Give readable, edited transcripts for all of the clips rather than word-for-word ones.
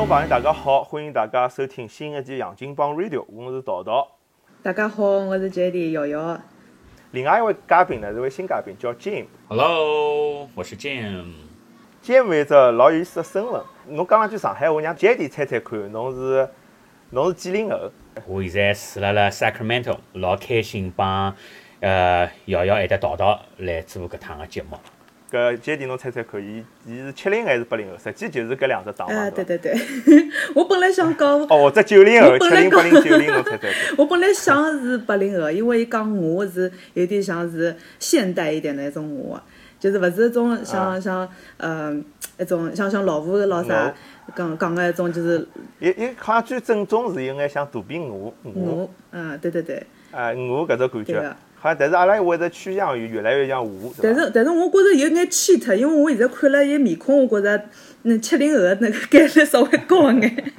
朋友大家好，欢迎大家收听新一期洋金帮 Radio， 我是桃桃。 大家好，我是 JD 瑶瑶。 另外一位嘉宾呢是位新嘉宾叫 Jim。Hello， 我是 Jim。Jim 有一只老有意思的身份，侬讲两句上海话，让 JD 猜猜看，侬是几零后？ 我现在住辣 Sacramento， 老开心帮瑶瑶还得桃桃来做搿趟个节目。 搿 JD 侬猜猜看，伊是70还是80后？实际就是搿两只档嘛。 对，我本来想讲哦，这90后，70、80、90，侬猜猜看。 我本来想是80后，因为伊讲我是有点像是现代一点的一种我，就是勿是一种像一种像老虎老啥讲个一种就是。 伊好像最正宗是有眼像肚皮鹅。 对。 鹅搿种感觉。好像，但是阿拉会得趋向于越来越像鹅， 但是我觉着有眼cheat，因为我现在看了伊面孔，我觉着70后的那个概率稍微高一眼。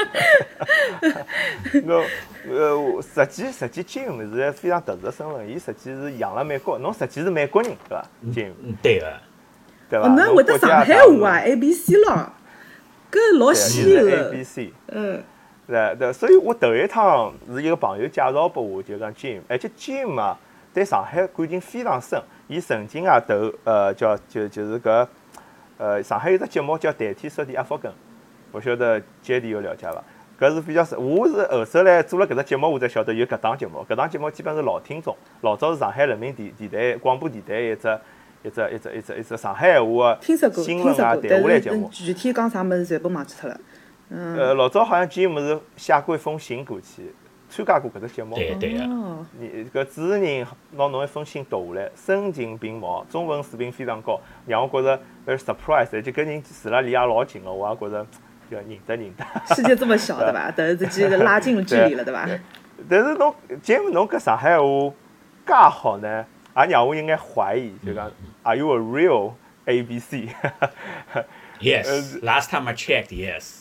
实际 Jim 是非常特殊的身份，伊实际是养了美国，侬实际是美国人对伐 ？Jim 对个， 对伐？ 侬会得上海话啊 ，ABC 咯，搿老稀有的。 ABC，对，所以我头一趟是一个朋友介绍拨我，就讲 Jim， 而且 Jim 啊，对上海感情非常深。伊曾经啊就是搿上海有只节目叫《代替说的阿福根》，我晓得 JD 有了解伐？搿是比较深。我是后首来做了搿只节目，我才晓得有搿档节目。搿档节目基本是老听众，老早是上海人民电台广播电台一只上海话新闻啊谈话类节目。 具体讲啥物事全部忘记脱了。 老早好像 Jim 是写过一封信过去，参加过搿只节目。 对个。 你搿主持人拿侬一封信读下来，声情并茂，中文水平非常高，让我觉着very surprise，而且跟人住了离也老近了，我也觉着就认得。 世界这么小对吧？但是这个拉近了距离了对吧？ 但是侬 Jim 侬搿上海话介好呢，也让我有眼怀疑，就讲 Are you a real ABC？ Yes. Last time I checked, yes.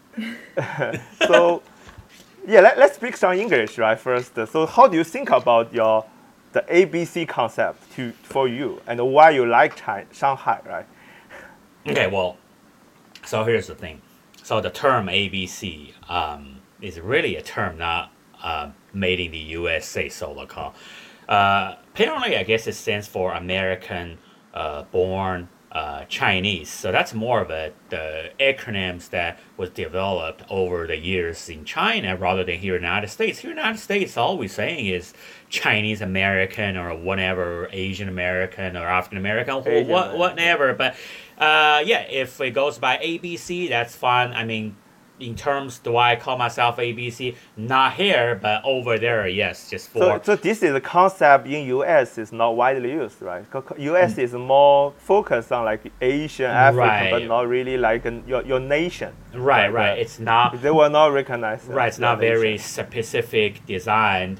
So, yeah, let's speak some English, right? First, so how do you think about the ABC concept for you, and why you like Shanghai, right? Okay, well, so here's the thing. So the term ABC is really a term not made in the USA, so apparently, I guess it stands for American born Chinese. So that's more of the acronyms that was developed over the years in China rather than here in the United States. Here in the United States, all we're saying is Chinese American or whatever, Asian American or African American, whatever. But if it goes by ABC, that's fine. I mean, in terms, do I call myself ABC? Not here, but over there, yes, just for. So this is a concept in US is not widely used, right? US is more focused on like Asian, African, right. But not really like your nation. Right. It's not. They will not recognize. Right, it's not very specific designed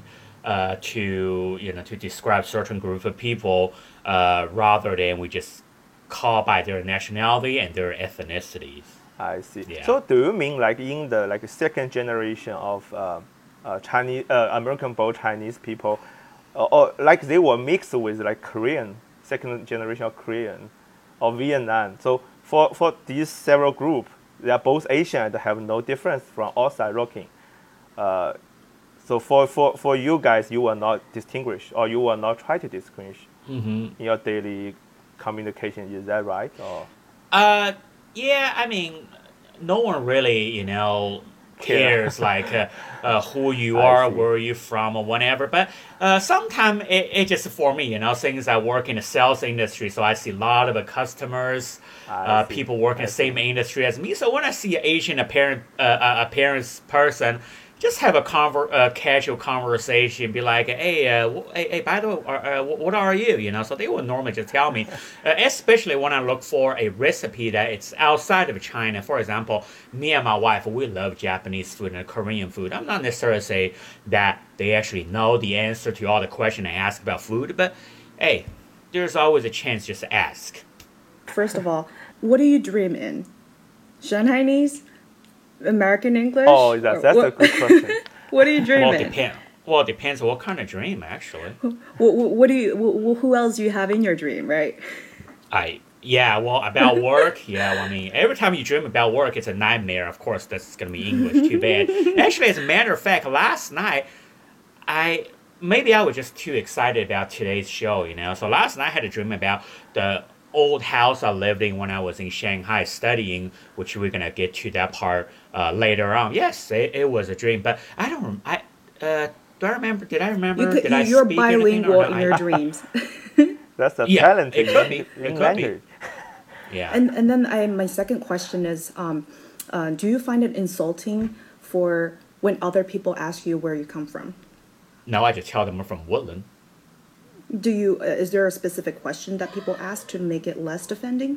to describe certain group of people, rather than we just call by their nationality and their ethnicities. I see. Yeah. So do you mean like in the second generation of Chinese American-born Chinese people, or like they were mixed with like Korean, second generation of Korean, or Vietnam? So for these several groups, they are both Asian and have no difference from outside looking. So for you guys, you will not distinguish, or you will not try to distinguish in your daily communication. Is that right? Or yeah, I mean, no one really, cares like who you are, where you're from, or whatever. But sometimes it just for me, since I work in the sales industry, so I see a lot of customers, people work in the same industry as me. So when I see an Asian appearance person, just have a casual conversation, be like, hey, by the way, what are you? So they will normally just tell me, especially when I look for a recipe that it's outside of China. For example, me and my wife, we love Japanese food and Korean food. I'm not necessarily say that they actually know the answer to all the questions I ask about food, but hey, there's always a chance just to ask. First of all, what do you dream in? Shanghainese? American English? Oh, that's a good question. What do you dream in? Well, it depends on what kind of dream, actually. What do you? Who else do you have in your dream, right? Yeah, well, about work, yeah, well, I mean, every time you dream about work, it's a nightmare. Of course, that's going to be English, too bad. Actually, as a matter of fact, last night, maybe I was just too excited about today's show, you know. So last night I had a dream about the old house I lived in when I was in Shanghai studying, which we're going to get to that part later on. Yes, it was a dream, but I don't, do I remember, did I remember, did I you're speak anything bilingual or not? in your dreams. That's a Yeah, talent it could be. It in could be. language. Yeah. And then my second question is, do you find it insulting for when other people ask you where you come from? No, I just tell them I'm from Woodland. Is there a specific question that people ask to make it less offending?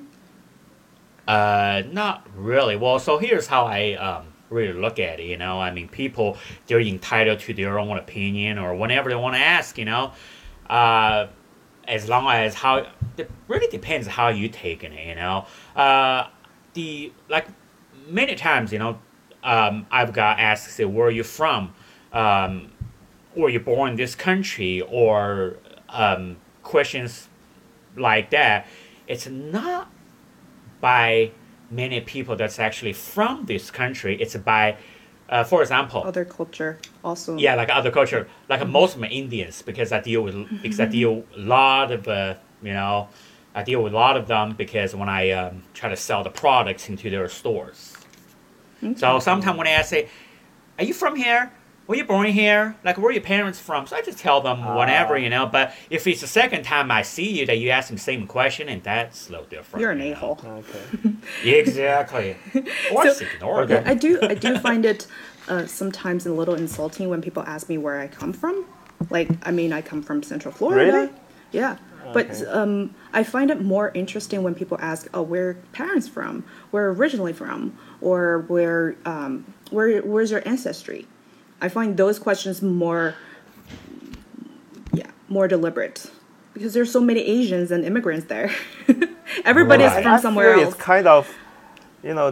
Not really. Well, so here's how I really look at it, you know. I mean, people, they're entitled to their own opinion or whatever they want to ask, you know. As long as it really depends how you taking it, you know. Like many times, you know, I've got asked, say, where are you from? Were you born in this country? Or questions like that. It's not by many people that's actually from this country. It's by, for example, Other culture also. yeah, like other culture, like most of my Indians, because I deal with a lot of you know, I deal with a lot of them because when I try to sell the products into their stores. Okay. So sometimes when I say, "Are you from here? Were you born here? Like, where are your parents from?" So I just tell them whatever, you know. But if it's the second time I see you that you ask me the same question, and that's a little different. You're an you know. a-hole. Okay. Exactly. Or just ignore Okay. them. I do find it sometimes a little insulting when people ask me where I come from. Like, I mean, I come from Central Florida. Really? Yeah. But I find it more interesting when people ask, "Oh, where are your parents from? Where originally from? Or where's your ancestry?" I find those questions more deliberate because there's so many Asians and immigrants there. Everybody's Right. from somewhere I feel else. it's kind of, you know,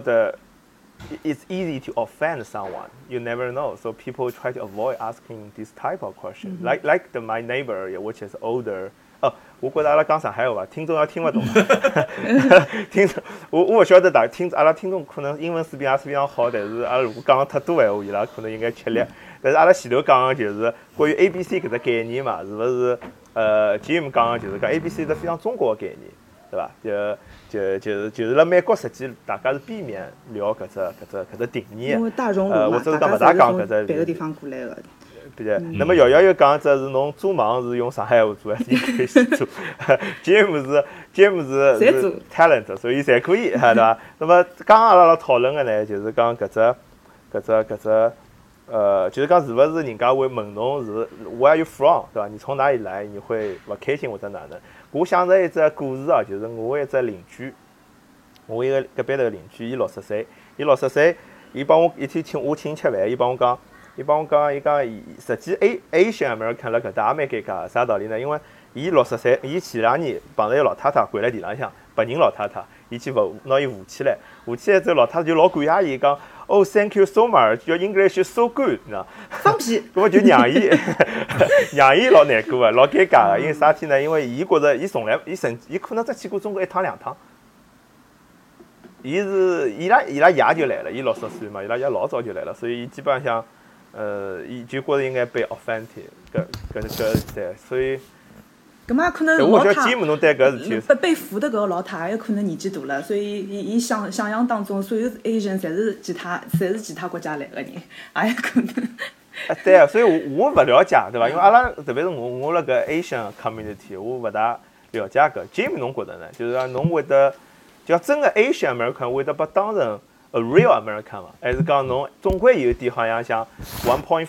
it's easy to offend someone. You never know, so people try to avoid asking this type of question. Like my neighbor, yeah, which is older. 我觉得阿拉讲上海话，听众要听不懂啊。听众，我不晓得阿拉听众可能英文水平也是非常好，但是阿拉如果讲太多闲话，伊拉可能应该吃力。但是阿拉前头讲的就是关于 ABC 搿只概念嘛，是勿是？Jim 讲的就是讲 ABC 是非常中国的概念，对伐？就是辣美国实际大家是避免聊搿只定义的。 因为大熔炉嘛， 或者大讲勿大家讲搿只是从别的地方过来的。 对，那么瑶瑶又讲只是侬做梦是用上海话做，还是应该是做？Jim 是 talent， 所以侪可以，对伐？那么刚刚阿拉讨论的呢，就是讲搿只就是讲是勿是人家会问侬是 Where are you from， 对伐？你从哪里来？你会勿开心或者哪能？我想着一只故事啊，就是我一只邻居，我一个隔壁头邻居，伊60岁，伊帮我一天请我吃饭，伊帮我讲，实际 Asian American 辣搿搭也蛮尴尬，啥道理呢？因为伊60岁，伊前2年碰着一个老太太跪辣地浪向，白人老太太，伊去拿伊扶起来之后，老太太就老感谢伊，讲Oh thank you so much, your English is so good， 你知道？ 放屁！ 搿么就让伊老难过个，老尴尬个，因为啥体呢？因为伊觉着伊可能只去过中国1趟2趟。伊拉爷就来了，伊60岁嘛，伊拉爷老早就来了，所以伊基本上，伊就觉着应该被 offended， 对，所以。 咁嘛可能我觉得老太吉姆侬对搿事体， 被扶的搿个老太有可能年纪大了，所以伊想象当中所有 Asian 侪是其他国家来的人，也有可能。 对啊，所以我勿了解，对伐？因为阿拉特别是我辣搿 Asian community， 我勿大了解搿。Jim 侬觉得呢？就是讲侬会得，就真个 Asian American 会得把当成 a real American 嘛？还是讲侬总归有点好像像 1.5？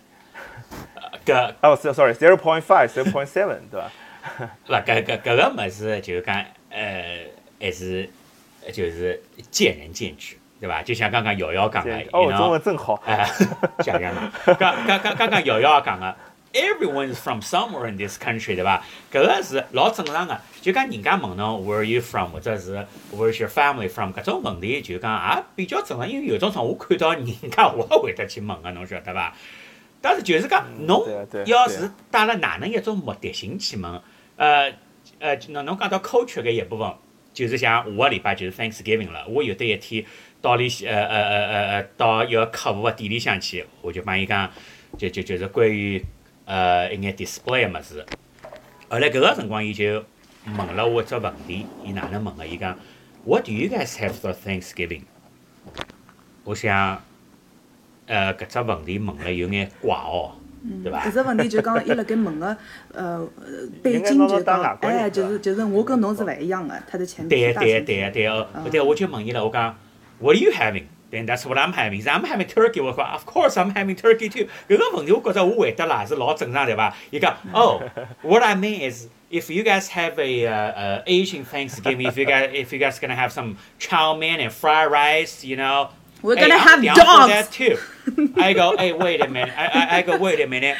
sorry 0.5 对伐？ 那搿个物事就讲还是就是见仁见智，对吧？就像刚刚瑶瑶讲的， 中文真好。 讲讲了，刚刚瑶瑶讲的 ，everyone is from somewhere in this country， 对吧？搿个是老正常的。就讲人家问侬 Where are you from， 或者是 Where's your family from， 搿种问题就讲也比较正常，因为有种辰光我看到人家我也会得去问个，侬晓得伐？但是就是讲，侬要是带了哪能一种目的性去问，侬讲到 culture 搿一部分， 就是像下个礼拜就是 Thanksgiving 了，我有得一天到到一个客户的店里向去，我就帮伊讲，就是关于一眼 display 的物事。后来搿个辰光，伊就问了我一只问题，伊哪能问个？伊讲 What do you guys have for Thanksgiving？ 我想，搿只问题问了有眼怪哦，对伐？ 搿只问题就讲伊辣盖问个背景就讲，就是我跟侬是勿一样个，他的前提大前提。 对，我就问伊了，我讲 What are you having？Then that's what I'm having. I'm having turkey. 我讲 Of course I'm having turkey too. 搿个问题我覺着我回答啦是老正常對伐？伊講 Oh, what I mean is if you guys have a Asian Thanksgiving, if you guys gonna have some chow mein and fried rice, you know, We're gonna have I'm down for dogs. that too. I go, hey, wait a minute. I go, wait a minute.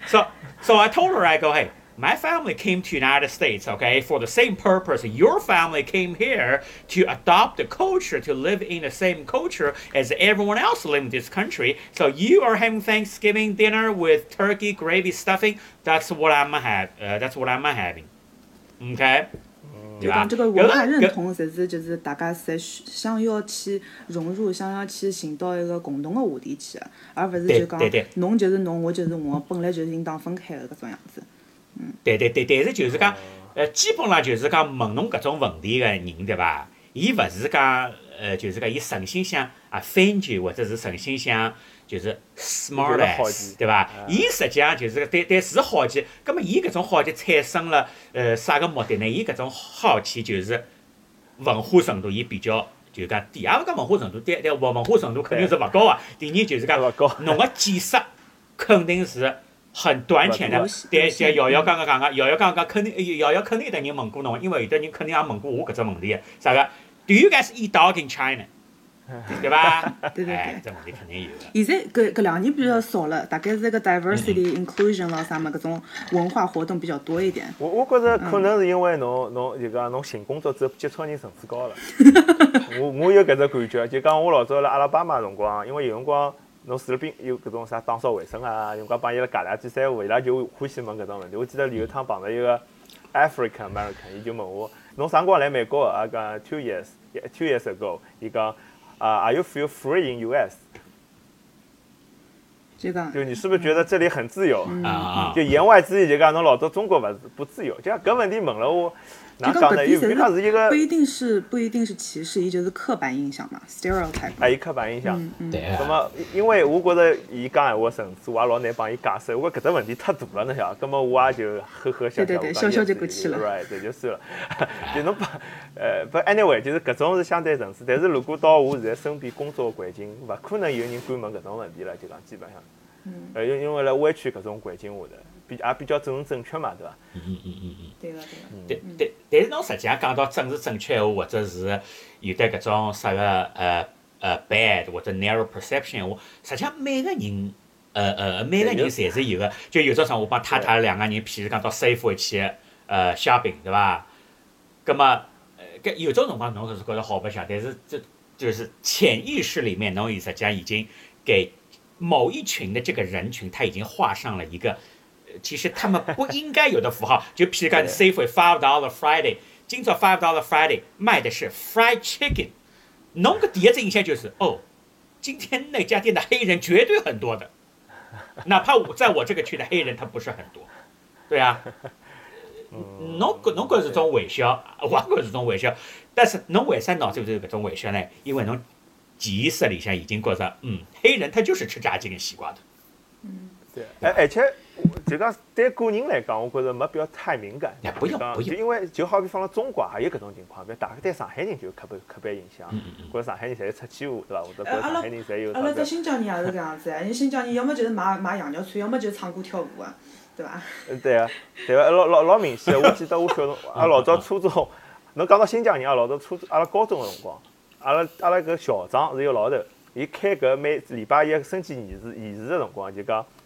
So I told her, I go, hey, my family came to United States, okay, for the same purpose. Your family came here to adopt the culture, to live in the same culture as everyone else living in this country. So you are having Thanksgiving dinner with turkey, gravy, stuffing. That's what I'm having. Okay? 就讲这个文化认同，侪是就是大家侪想要去融入，想要去寻到一个共同的话题去，而勿是就讲侬就是侬，我就是我，本来就是应当分开的搿种样子。 对，但是就是讲，基本上就是讲问侬搿种问题个人，对伐？伊勿是讲，就是讲伊诚心想offend you，或者是诚心想就是 smart ass， 对伐？伊实际上就是对是好奇，葛末伊搿种好奇产生了啥个目的呢？伊搿种好奇就是文化程度，伊比较就讲第二个文化程度，对文化程度肯定是勿高啊。第二就是讲侬个见识肯定是。很短浅的，对，像瑶瑶刚刚讲个，瑶瑶肯定有的人问过侬，因为有的人肯定也问过我搿只问题，啥个 ？Do you guys eat dog in China？ 对伐？ 对， 这问题肯定有的。 现在搿2年比较少了，大概是个 diversity inclusion 咯啥么搿种文化活动比较多一点。 我觉着可能是因为侬就讲侬寻工作之后接触人层次高了。我有搿只感觉，就讲我老早辣阿拉巴马辰光，因为有辰光。侬除了兵有搿种啥打扫卫生啊，有辰光帮伊拉家里比赛话，伊拉就欢喜问搿种问题。我记得有一趟碰到一个 African American， 伊就问我，侬啥辰光来美国？啊讲 2 years ago， 伊讲Are you feel free in US？ 就你是不是觉得这里很自由？就言外之意就讲侬老早中国不自由，就讲搿问题问了我。哪讲呢？因为它是一个不一定是歧视，伊就是刻板印象嘛 ，stereotype。 伊刻板印象。 对。 那么，因为我觉着伊讲闲话层次，我也老难帮伊解释。我觉搿只问题太大了，侬晓得？葛么我也就呵笑。 对，笑就过去了。 right， 对，就算了。就侬不 anyway， 就是搿种是相对层次。但是如果到我现在身边工作环境，勿可能有人敢问搿种问题了，就讲基本上。因为辣湾区搿种环境下头，也比较政治正确嘛，对伐？ 对个。 但是侬实际上讲到政治正确或者是有得搿种啥个bad 或者 narrow perception 话，实际上每个人侪是有个。就有朝上我帮太太2个人，譬如讲到 Safeway 去shopping， 对伐？葛么搿有种辰光侬是觉得好白相，但是这就是潜意识里面侬实际上已经给某一群的这个人群，他已经画上了一个。其实他们不应该有的符号，就譬如讲 Safeway $5 Friday， 今朝$5 Friday 卖的是 fried chicken， 侬个第一只印象就是今天那家店的黑人绝对很多的，哪怕在我这个区的黑人他不是很多，对啊，侬搿是种微笑，我搿是种微笑，但是侬为啥脑子里头有搿种微笑呢？因为侬潜意识里向已经觉着，黑人他就是吃炸鸡跟西瓜的。 对，而且就讲对个人来讲，我觉着没必要太敏感。 不用。 就因为就好比放到中国也有搿种情况，比如大家对上海人就有刻板印象，觉着上海人侪是出气话，对伐？或者觉着上海人侪有。 阿拉在新疆人也是搿样子，人新疆人要么就是卖羊肉串，要么就是唱歌跳舞啊，对伐？ 对啊，老明显。我记得我小辰光，老早初中，侬讲到新疆人老早阿拉高中个辰光，阿拉搿校长是一个老头，伊开搿每礼拜一升旗仪式个辰光就讲。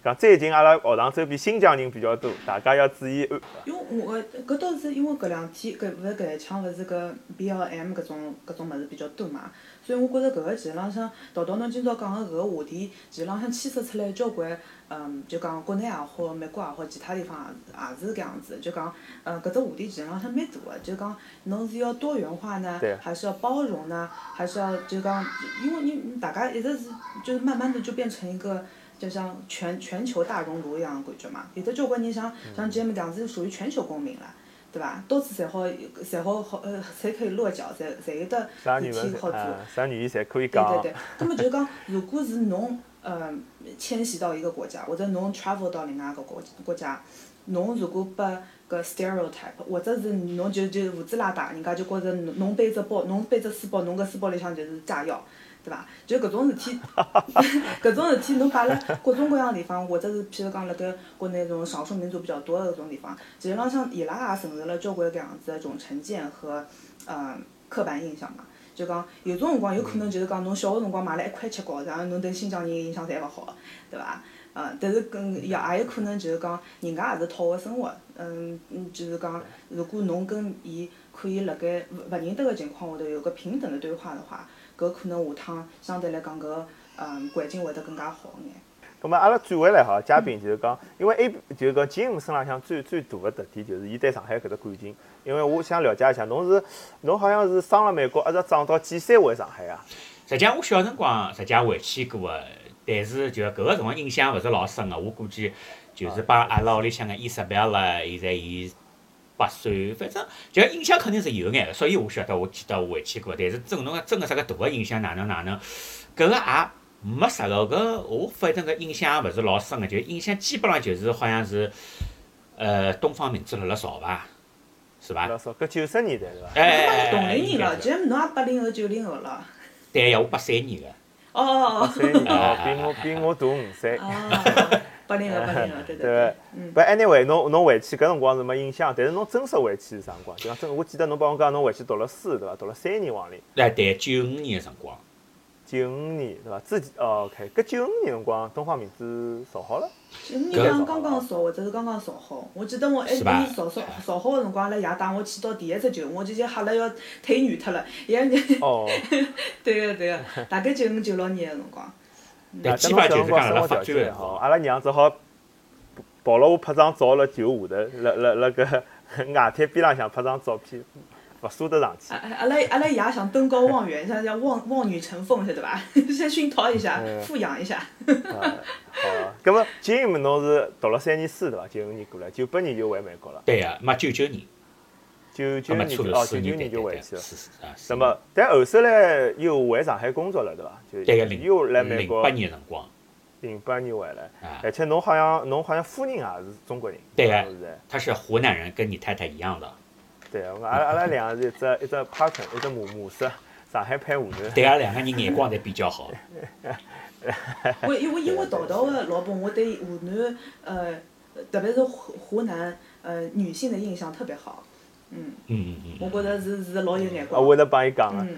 讲最近阿拉学堂周边新疆人比较多，大家要注意安。 因为我搿倒是因为搿两天勿是搿一腔勿是搿 BLM 搿种物事比较多嘛，所以我觉着搿个其实浪向桃桃侬今朝讲个搿个话题，其实浪向牵涉出来交关，就讲国内也好，美国也好，其他地方也是搿样子，就讲搿只话题其实浪向蛮大个，就讲侬是要多元化呢，还是要包容呢，还是要就讲，因为你大家一直是就是慢慢的就变成一个。就像全球大熔炉一样的感觉嘛，有的交关人像 Jim 这样子属于全球公民了，对伐？到处侪好侪可以落脚，侪有的事体好做。 啥语言侪可以讲。 对。葛末就是讲，如果是侬迁徙到一个国家，或者侬 travel 到另外一个国家，侬如果把搿 stereotype， 或者是侬就胡子拉碴，人家就觉着侬背只包，侬背只书包，侬搿书包里向就是炸药。对伐？就搿种事体，搿种事体侬摆辣各种各样地方，或者是譬如讲辣盖国内种少数民族比较多的搿种地方，其实浪向伊拉也承受了交关搿样子的种成见和刻板印象嘛。就讲有种辰光有可能就是讲侬小个辰光买了一块切糕，然后侬对新疆人印象侪勿好，对伐？但是也有可能就是讲人家也是讨个生活，就是讲如果侬跟伊可以辣盖勿认得个情况下头有个平等的对话的话。搿可能下趟相对来讲搿环境会得更加好眼。 咁么阿拉转回来哈，嘉宾就是讲，因为就是讲 Jim 身浪向最大个特点就是伊对上海搿只感情。因为我想了解一下，侬好像是生了美国，一直长到几岁回上海啊？ 实际上我小辰光实际上回去过个，但是就搿个辰光印象勿是老深个。我估计就是帮阿拉屋里向个伊莎贝拉，现在伊8岁，反正就印象肯定是有眼个，所以我晓得我记得我回去过，但是侬讲真个啥个大个印象哪能，搿个也没啥个，搿我反正搿印象也勿是老深个，就印象基本上就是好像是东方明珠辣辣造伐，是伐？ 辣造，搿90年代是伐？ 同龄人了，就是侬也80后90后了。 对呀，我83年个。 哦。 83年哦，比我大5岁。 80后，对。 对。不 anyway， 侬回去搿辰光是没印象，但是侬真实回去是啥辰光？就讲真，我记得侬帮我讲侬回去读了书对伐？读了3年往里。 对，95年个辰光。 95年对伐？之前OK，搿95年辰光东方明珠造好了。 95年刚刚造，或者是刚刚造好。我记得我一年造好个辰光，阿拉爷带我去到第一只球，我就吓了要腿软脱了。 哦。 对个，大概95、96年个辰光。 但基本就是讲辣辣发展个好，阿拉娘只好跑了我拍张照辣球下头，辣搿外滩边浪向拍张照片，勿舍得上去。 阿拉爷想登高望远，像望女成凤，晓得伐？先熏陶一下，富养一下。 好，葛末Jim侬是读了3年书对伐？95年过来，98年就回美国了。 对个，嘛99年。 99年99年就回去了。 那么，但后首来又回上海工作了，对伐？就又来美国。 08年辰光。 08年回来，而且侬好像夫人也是中国人。 对个，他是湖南人，跟你太太一样的。 对个，阿拉两个是一只 partner， 一只模式，上海配湖南。 对个，两个人眼光侪比较好。 因为桃桃个老婆，我对湖南特别是湖南女性的印象特别好。我觉着是老有眼光。 我会得帮伊讲个。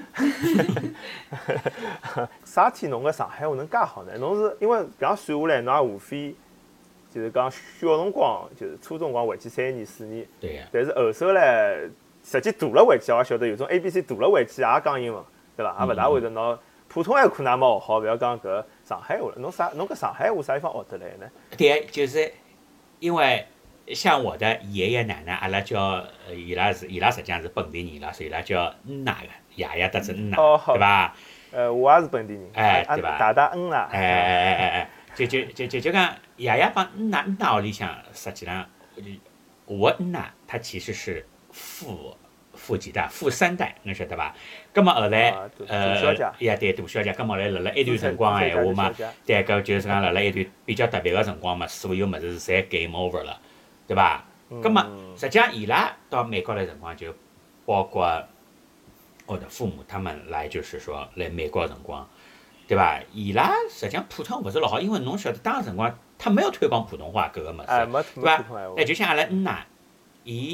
啥天侬个上海话能介好呢？侬是因为搿样算下来，侬也无非就是讲小辰光，就是初中光回去3年4年。 对个。 但是后首来，实际大了回去，我也晓得有种 ABC 大了回去也讲英文，对伐？也勿大会得拿普通话可能也没学好，勿要讲搿上海话了。侬搿上海话啥地方学得来呢？ 对，就是因为。像我的爷爷奶奶，阿拉叫伊拉实际上是本地人啦，所以伊拉叫奶个，爷爷得是奶，对伐？ 我也是本地人， 对伐？ 大大奶。 就讲爷爷帮奶屋里向，实际上我奶他其实是富几代、富3代，侬晓得伐？葛末后来对大小姐，葛末后来辣辣一段辰光闲话嘛，对搿就是讲辣辣一段比较特别个辰光嘛，所有物事侪 game over 了。对伐？葛末实际上伊拉到美国来辰光，就包括我的父母他们来，就是说来美国辰光，对伐？伊拉实际上普通话勿是老好，因为侬晓得当时辰光他没有推广普通话搿个物事，对伐？就像阿拉奶，伊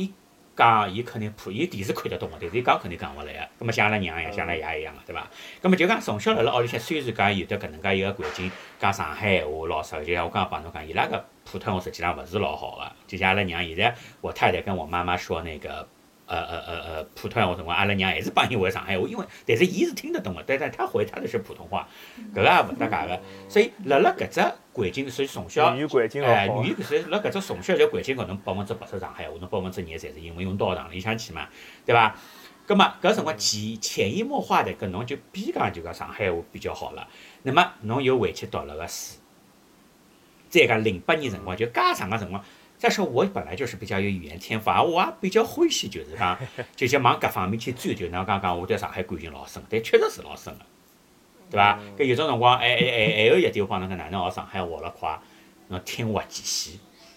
讲伊肯定伊电视看得懂个，但是伊讲肯定讲勿来个。葛末像阿拉娘一样，像阿拉爷一样个，对伐？葛末就讲从小辣辣屋里向，虽然讲有得搿能介一个环境，讲上海闲话老少，就像我刚刚帮侬讲，伊拉个普通话实际上勿是老好个。就像阿拉娘现在，我太太跟我妈妈说那个。普通话辰光，阿拉娘还是帮伊回上海话，因为但是伊是听得懂的，但是他回他的是普通话，搿个也勿搭界个。所以辣搿只环境，所以从小， 语言环境语言所以辣搿只从小就环境高，侬80%上海话，侬2%侪是英文，用到堂里向去嘛，对伐？葛末搿辰光潜移默化的搿侬就比讲就讲上海话比较好了。那么侬又回去读了个书，再讲08年辰光就介长个辰光。再说我本来就是比较有语言天赋，我也比较欢喜，就是讲，就是往各方面去追求。侬讲我对上海感情老深，但确实是老深个，对伐？搿有种辰光，还有一点我帮侬讲，哪能学上海话了快，侬听滑稽戏。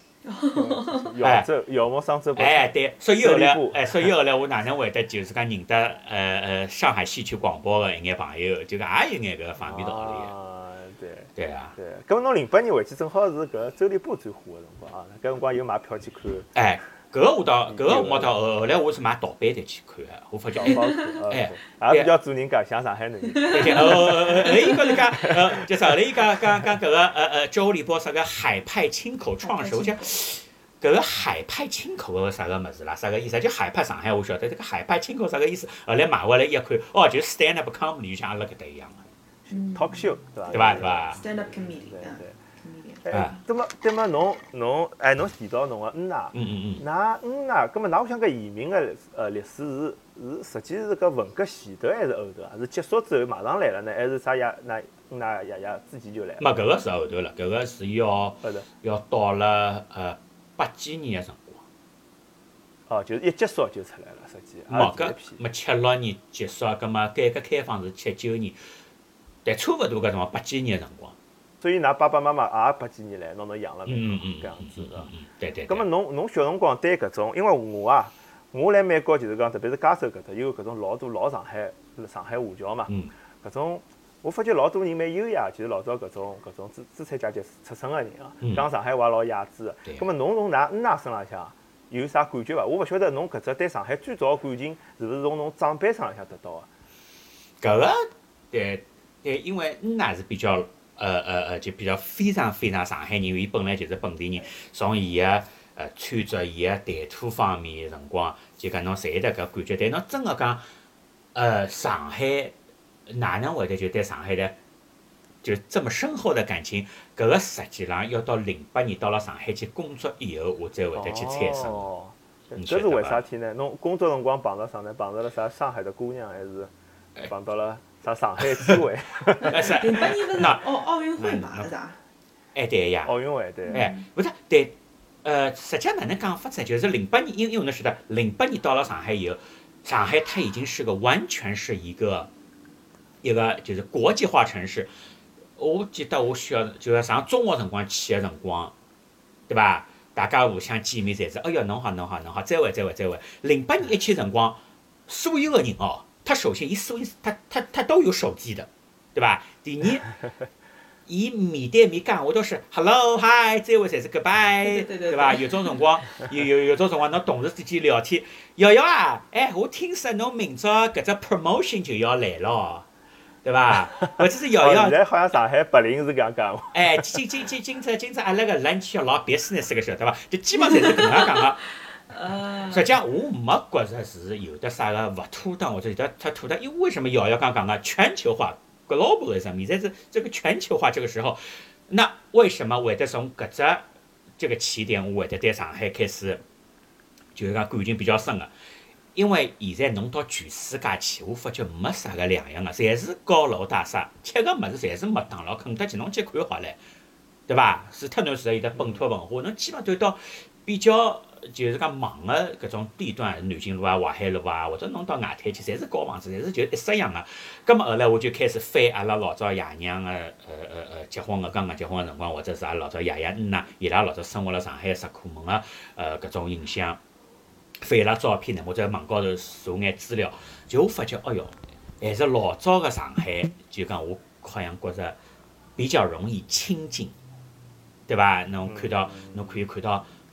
姚某上周对，所以后来我哪能会得就是讲认得上海戏曲广播个一眼朋友，就讲也有眼搿方面道理。对啊， 对，咁侬08年回去正好是搿周立波最火个辰光啊，搿辰光有买票去看。 搿个我到后来我是买盗版的去看个，我发觉也比较做人家像上海人。 对，后来伊搿能介就是后来伊讲搿个周立波啥个海派清口创始，我想搿个海派清口个啥个物事啦，啥个意思？就海派上海我晓得，这个海派清口啥个意思？后来买回来一看，哦，就是 stand up comedy，就像阿拉搿搭一样个。 talk show 对伐 ？stand up comedian。 对么，侬提到侬个恩娜，㑚恩娜，葛末㑚我想搿移民个历史是实际是搿文革前头还是后头啊？是结束之后马上来了呢，还是啥爷㑚爷爷之前就来了？ 没，搿个是后头了，搿个是要到了80几年个辰光。哦，就是一结束就出来了，实际。 没76年结束，葛末改革开放是79年。但差勿多搿辰光80几年个辰光， 所以㑚爸爸妈妈也80几年来拿侬养了搿样子的。 对。 葛末侬小辰光对搿种，因为我来美国就是讲，特别是加州搿搭有搿种老多老上海华侨嘛，搿种我发觉老多人蛮优雅，就是老早搿种资产阶级出身个人啊，讲上海话老雅致个。葛末侬从㑚恩娜身浪向有啥感觉伐？我勿晓得侬搿只对上海最早个感情是勿是从侬长辈身浪向得到个？搿个对，因为恩娜是比较就比较非常非常上海人，伊本来就是本地人，从伊个穿着、伊个谈吐方面辰光，就讲侬侪有得搿感觉。但侬真个讲，上海哪能会得就对上海的就这么深厚的感情？搿个实际上要到08年到了上海去工作以后，我才会得去产生。 搿是为啥体呢？侬工作辰光碰到啥呢？碰到了啥上海的姑娘，还是碰到了？上海机会 08年勿是奥运会嘛？是啥？ 对呀。 奥运会对。 勿是对，实际上哪能讲法子？就是08年，因为侬晓得，08年到了上海以后，上海它已经是个完全是一个就是国际化城市。我记得我小就是上中学辰光去个辰光，对伐？大家互相见面侪是，哎哟，侬好，再会。08年一去辰光，所有个人哦。他首先，他都有手机的，对吧？第二，伊面对面讲话都是 hello hi， 再会侪是 goodbye， 对吧？有种辰光，有种辰光，侬同事之间聊天，瑶瑶啊，我听说侬明朝搿只 promotion 就要来了，对吧？或者是瑶瑶。 现在好像上海白领是搿样讲话。 今朝阿拉个 lunch 要老 business 个晓得伐？就基本上侪是搿能样讲个。实际上我没觉着是有的啥个勿妥当或者有的太妥当，因为为什么瑶瑶刚讲个全球化 globalism， 现在是这个全球化这个时候，那为什么会得从搿只这个起点，我会得对上海开始就是讲感情比较深个？因为现在侬到全世界去，我发觉没啥个两样个，侪是高楼大厦，吃个物事侪是麦当劳、肯德基，侬去看好唻，对伐？除脱侬是有得本土文化，侬基本都到比较。就是讲忙个搿种地段，南京路啊、淮海路啊，或者侬到外滩去，侪是高房子，侪是就一式样个。葛末后来我就开始翻阿拉老早爷娘个结婚个刚刚结婚个辰光，或者是阿拉老早爷爷恩呐，伊拉老早生活辣上海石库门个搿种印象，翻伊拉照片呢，或者网高头查眼资料，就我发觉，哎哟，还是老早个上海，就讲我好像觉着比较容易亲近，对伐？侬可以看到。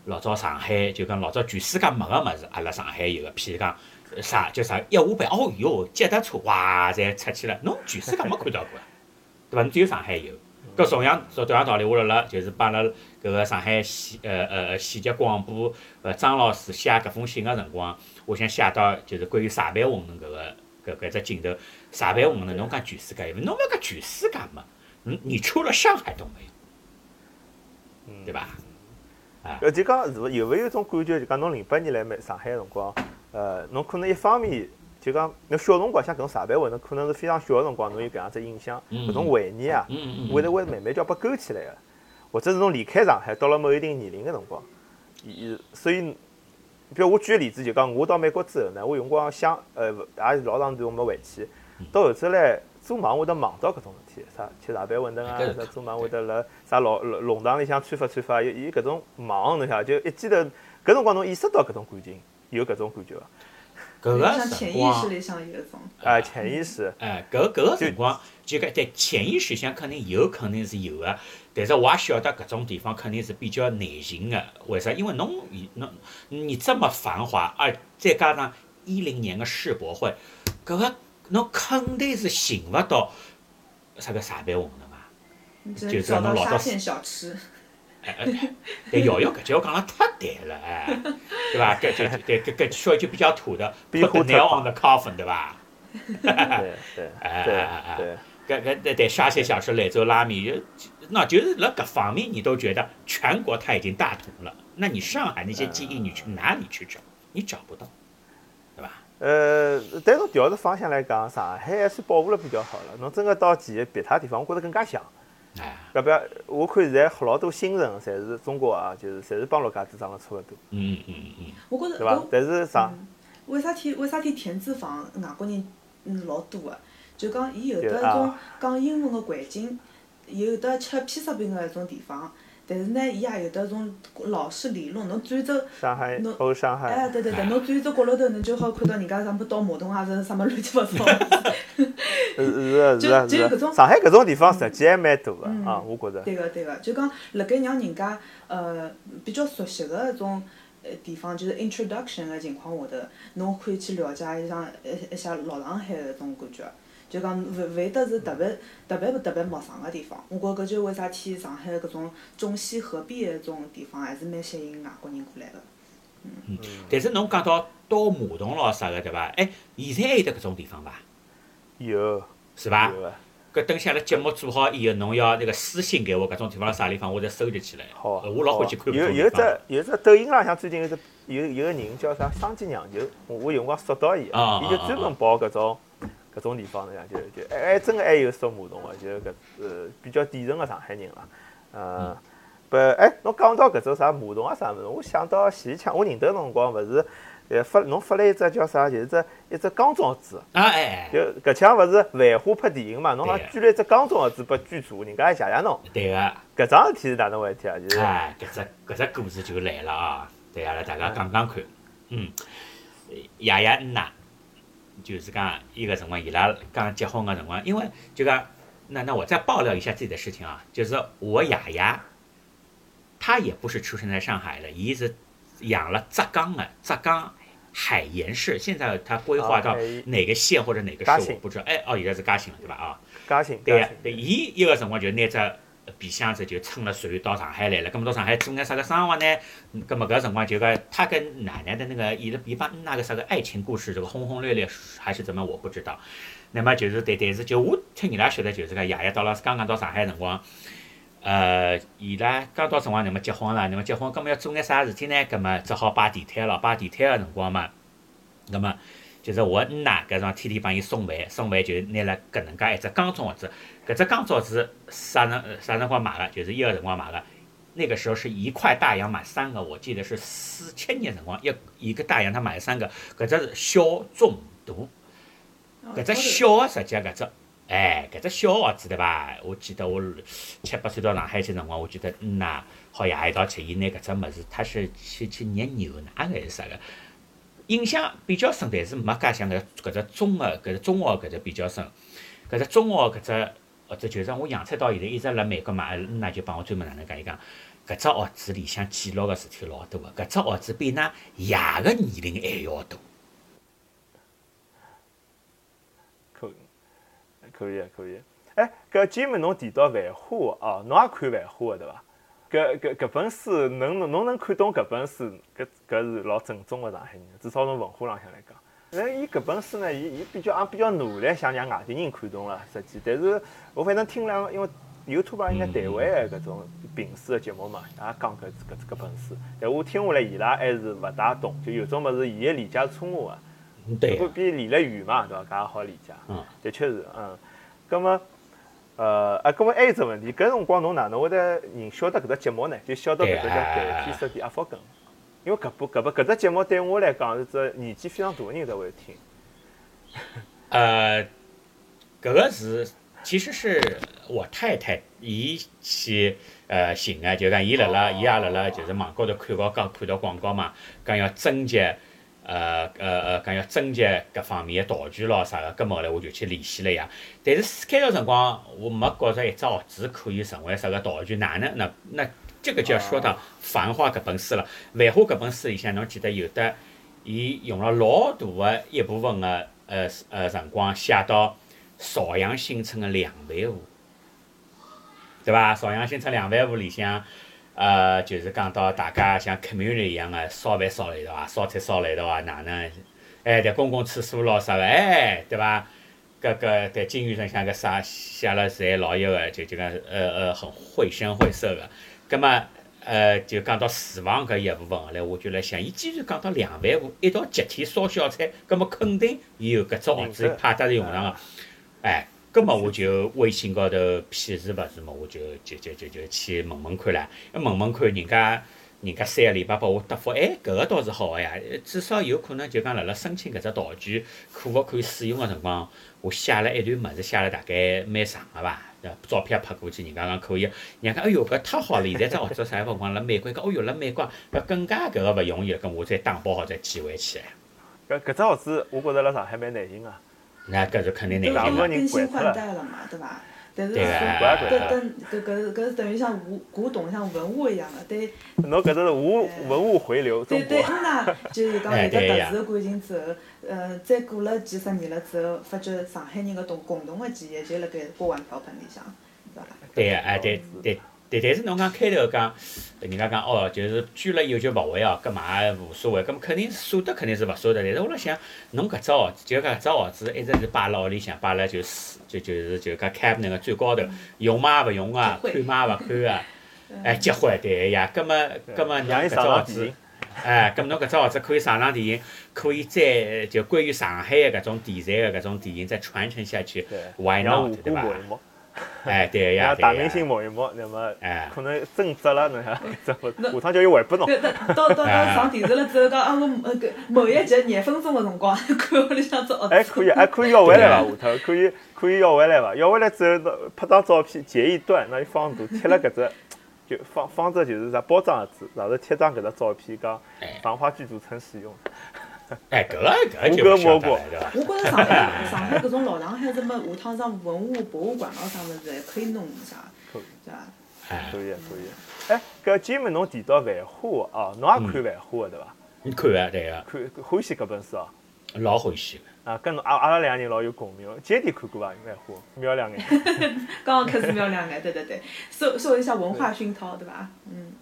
老早上海就讲老早全世界没个物事，阿拉上海有个，譬如讲啥叫啥一下班，哦哟，脚踏车哇侪出去了，侬全世界没看到过，对伐？侬只有上海有。搿同样道理，我辣辣就是帮阿拉搿个上海县级广播张老师写搿封信个辰光，我想写到就是关于茶杯混沌搿只镜头，茶杯混沌侬讲全世界有，侬勿要讲全世界嘛，你除了上海都没有，对伐？ 就讲是有勿有一种感觉，就讲侬08年来上海个辰光，侬可能一方面就讲侬小辰光像搿种茶杯混沌，可能是非常小个辰光，侬有搿样子印象，搿种回忆啊，会慢慢叫拨勾起来个，或者是侬离开上海到了某一定年龄个辰光，所以，比如我举个例子，就讲我到美国之后呢，我有辰光想，也是老长段我没回去，到后头来做梦会得梦到搿种事体，啥吃茶杯混沌啊，啥做梦会得辣啥弄堂里向穿法，有搿种梦，侬晓得，就一记头搿辰光侬意识到搿种感情，有搿种感觉伐？ 搿个像潜意识里向有一种。 潜意识。 搿个辰光，就讲在潜意识上肯定是有个，但是我也晓得搿种地方肯定是比较难寻个。为啥？因为你这么繁华，再加上10年个世博会，搿个侬肯定是寻勿到啥个茶杯混沌嘛。 就找到沙县小吃。 但瑶搿句话讲了太对了，对伐？搿说一句比较土的 ，put the nail on the coffin， 对伐？ 对。 搿沙县小吃、兰州拉面，那就是辣搿方面你都觉得全国它已经大同了，那你上海那些记忆你去哪里去找？你找不到，对伐？ 但从调个方向来讲，上海还算保护了比较好了。侬真个到别他地方，我觉着更加像。要不要？我看现在老多新城，侪是中国啊，就是侪是帮陆家嘴长得差勿多。 我觉着对伐？但是为啥体田字坊外国人老多个？就讲伊有得一种讲英文个环境，有得吃披萨饼个一种地方，但是呢，伊也有得种老式理论。侬转走上海，上海。 对，侬转走角落头，侬就好看到人家啥么倒马桶啊，啥么乱七八糟。 是。上海搿种地方实际还蛮多个啊，我觉着。 对个，就讲辣盖让人家比较熟悉个一种地方，就是 introduction 个情况下头，侬可以去了解一下老上海个种感觉。就讲勿会得是特别陌生个地方。我觉搿就为啥体上海搿种中西合璧个种地方，还是蛮吸引外国人过来个。 但是侬讲到倒马桶咯啥个对伐？现在还有得搿种地方伐？ 有。 是伐？ 有个。 搿等下拉节目做好以后，侬要那个私信给我，搿种地方辣啥地方，我再收集起来。 好。 我老欢喜看搿种地方。 有只抖音浪向最近有个人叫啥双鸡酿酒，我有辰光刷到伊，伊就专门跑搿种地方呢，就真个还有扫马桶个，就搿比较典型个上海人啦。侬讲到搿种啥马桶啊啥物事，我想到前腔，我认得辰光勿是侬发了一只叫啥，就是一只钢装置。就搿腔勿是繁花拍电影嘛，侬好像举了一只钢装置拨剧组，人家还谢谢侬。 对个。 搿桩事体是哪能回事体啊？就是。 搿只故事就来了啊！对阿拉大家讲讲看。爷爷奶。就是讲一个辰光，伊拉刚结婚个辰光，因为就讲，那我再爆料一下自己的事情啊，就是我爷爷，他也不是出生在上海的，伊是养了浙江海盐市，现在他规划到哪个县或者哪个市我不知道，现在是嘉兴了对伐？ 嘉兴。 对呀，伊一个辰光就拿只皮箱子就撑了船到上海来了，咁么到上海做眼啥个生活呢？咁么搿辰光就讲他跟奶奶的那个伊帮那个啥个爱情故事，这个轰轰烈烈还是怎么我不知道。那么就是但是就我听伊拉说的，就是讲爷爷到了刚刚到上海辰光，伊拉刚到辰光，那么结婚了，那么结婚，咁么要做眼啥事体呢？咁么只好摆地摊了，摆地摊个辰光嘛，咁么就是我奶搿种天天帮伊送饭就拿了搿能介一只钢装子。搿只钢装子啥辰光买个？就是一个辰光买个。那个时候是1块大洋买3个，我记得是4000年辰光，一个大洋他买3个。搿只是小中大，搿只小个实际搿只小盒子对伐？我记得我7、8岁到上海去辰光，我记得好爷一道去，伊拿搿只物事，他是去捏牛奶还是啥个？印象比较深，但是没介像搿只中学搿只比较深。搿只中学搿只就是我洋菜到现在一直辣美国嘛，就帮我专门哪能讲，伊讲搿只盒子里向记录个事体老多个，搿只盒子比㑚爷个年龄还要大。 可以可以。哎，搿今日侬提到《繁花》哦，侬也看《繁花》个对伐？搿本书侬能看懂搿本书，搿是老正宗个上海人，至少从文化浪向来讲。那伊搿本书呢，伊比较努力想让外地人看懂了，实际，但是我反正听因为 YouTube 上应该台湾的搿种评书的节目嘛，也讲搿本书，但我听下来伊拉还是勿大懂，就有种物事伊个理解是错误个， 对， 比离了远嘛，对伐？搿也好理解，的确是，葛么。搿么还有只问题，搿辰光侬哪能会得晓得搿只节目呢？就晓得搿只叫代替设定阿福根，因为搿只节目对我来讲是只年纪非常大的人才会听。 搿个是其实是我太太伊去寻个，就讲伊也辣辣就是网高头看到广告嘛，讲要征集。讲要征集各方面的道具咯啥个，搿么后来我就去联系了呀。但是开头辰光我没觉着一只盒子可以成为啥个道具，哪能？那这个就要说到《繁花》搿本书了。《繁花》搿本书里向，侬记得有的，伊用了老大的一部分的辰光写到邵阳新村的两万户，对伐？邵阳新村两万户里向。就是讲到大家像 community 一样的烧饭烧辣一道啊，烧菜烧辣一道啊，哪能？在公共厕所咯啥个，对伐？搿在金鱼上像个啥写了侪老有个，就讲很绘声绘色个。葛么就讲到厨房搿一部分，后来我就来想，伊既然讲到两万户一道集体烧小菜，葛么肯定有搿只盒子派得用场个，葛么我就微信高头屁事勿是嘛，我就去问看啦。问看人家3个礼拜拨我答复，搿个倒是好个呀，至少有可能就讲辣辣申请搿只道具可勿可以使用个辰光，我写了一段物事，写了大概蛮长个伐，照片拍过去，人家讲可以。人家讲哎哟搿太好了，现在只盒子啥辰光辣美国，讲哦哟辣美国搿更加搿个勿容易了，搿我再打包好再寄回去。 搿只盒子我觉着辣上海蛮难寻个。 那搿是肯定难因为的。 更新换代了嘛，对伐？但是搿是等于像古董像文物一样的，对。 侬搿只是文物回流，中国。 对那就是讲有个特殊的感情之后，再过了几十年了之后，发觉上海人个共同的记忆就辣盖锅碗瓢盆里向，对伐？ 对，但是侬讲开头讲，人家讲哦，就是捐了以后就勿会哦，搿嘛也无所谓，搿么肯定舍得肯定是勿舍得。但是我辣想，侬搿只盒子就搿只盒子一直是摆辣屋里向，摆辣就是讲 cabinet 个最高头，用嘛勿用啊，看嘛勿看啊，结婚对呀，搿么侬搿只盒子，搿么侬搿只盒子可以上电影，可以再就关于上海个搿种题材个搿种电影再传承下去 ，why not 对伐？对呀， 大明星摸一摸，那么可能真值了，侬想，下趟叫伊回拨侬。 到上电视了之后，讲我某一集廿分钟个辰光，看屋里向只盒子。 可以要回来伐？下头可以要回来伐？要回来之后，拍张照片截一段，拿伊放大，贴了搿只，就放着就是啥包装盒子，然后贴张搿只照片，讲繁花剧组曾使用。 搿个就不晓得了，对伐？ 我觉着上海搿种老上海什么下趟上文物博物馆咯啥物事，还可以弄一下，对伐？ 可以。搿今日侬提到《繁花》哦，侬也看《繁花》个对伐？ 看啊，对个。 看欢喜搿本书哦。 老欢喜个。跟侬阿拉两个人老有共鸣。姐弟看过伐？《繁花》瞄两眼。 刚刚开始瞄两眼，对，受一下文化熏陶，对伐？